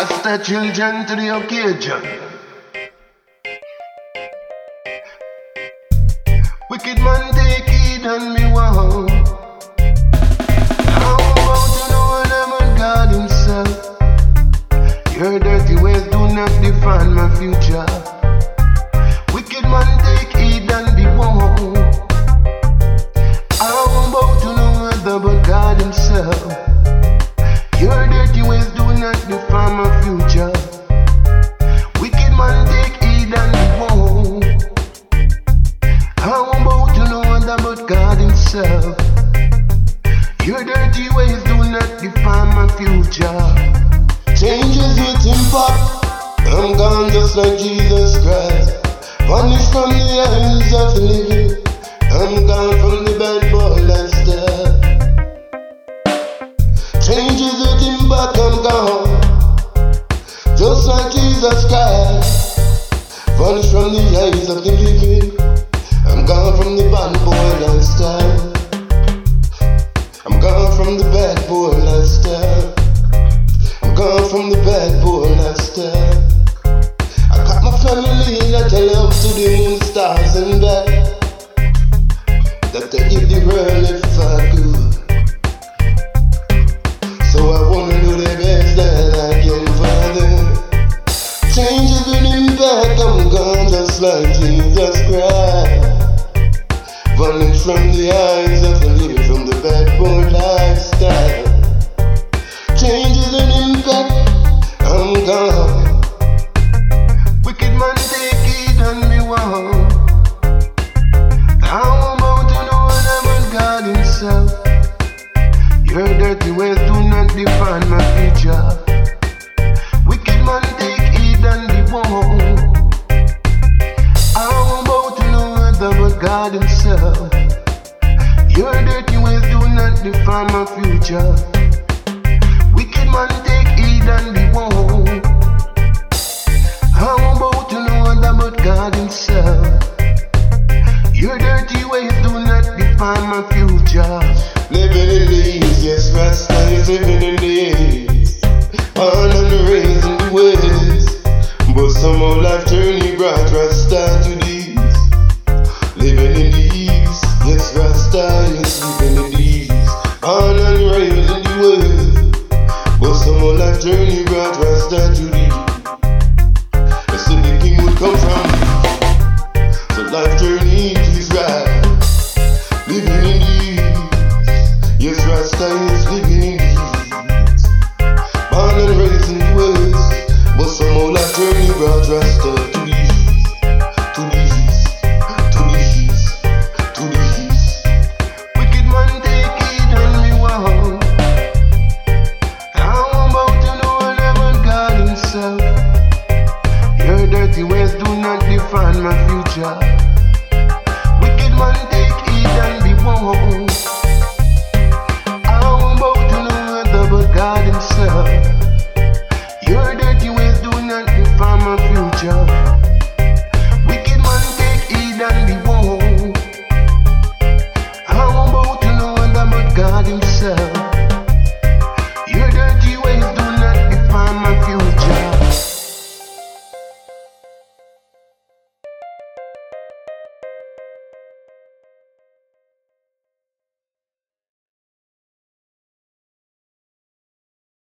Rasta children to the occasion. Wicked man take heed and me wow. How about you know whatever God himself? Your dirty ways do not define my future. Wicked man take heed and be warned. How about you know whether but God himself? Your dirty ways do not define my future. Wicked man take heed and be warned. How about you know whether but God himself? Your dirty ways do not define my future. Changes with impact. I'm gone just like Jesus Christ. Vanished from the eyes of the living. I'm gone from the bad boy lifestyle. Changes with impact. I'm gone just like Jesus Christ. Vanished from the eyes of the living. I'm gone from the bad boy lifestyle. I'm gone from the bad boy lifestyle. I'm gone from the bad boy lifestyle. I got my family that I love to the moon, stars and back. That they give the world if I could. So I wanna do the best that I can for them. Changes with impact, I'm gone just like Jesus Christ. Vanished from the eyes of the living, from the bad boy lifestyle. Changes and impact, I'm gone. Wicked man take heed and me wow. How about you know whatever God himself? Your dirty ways do not define my future. Wicked man take heed and be warned. How about you know whether but God himself? Your dirty ways do not define my future. Wicked man take heed and be warned. How about you know whether but God himself? Your dirty ways do not define my future. Living in the east, yes, Rasta is living in the east. On and raising the ways. But somehow life turning brought Rasta to the east. Living in the east, yes, Rasta is living in the east. On and raising the ways. But somehow life journey brought Rasta to the east. I said the king would come from me. So life journey is right. Living in the east. Yes, Rasta is living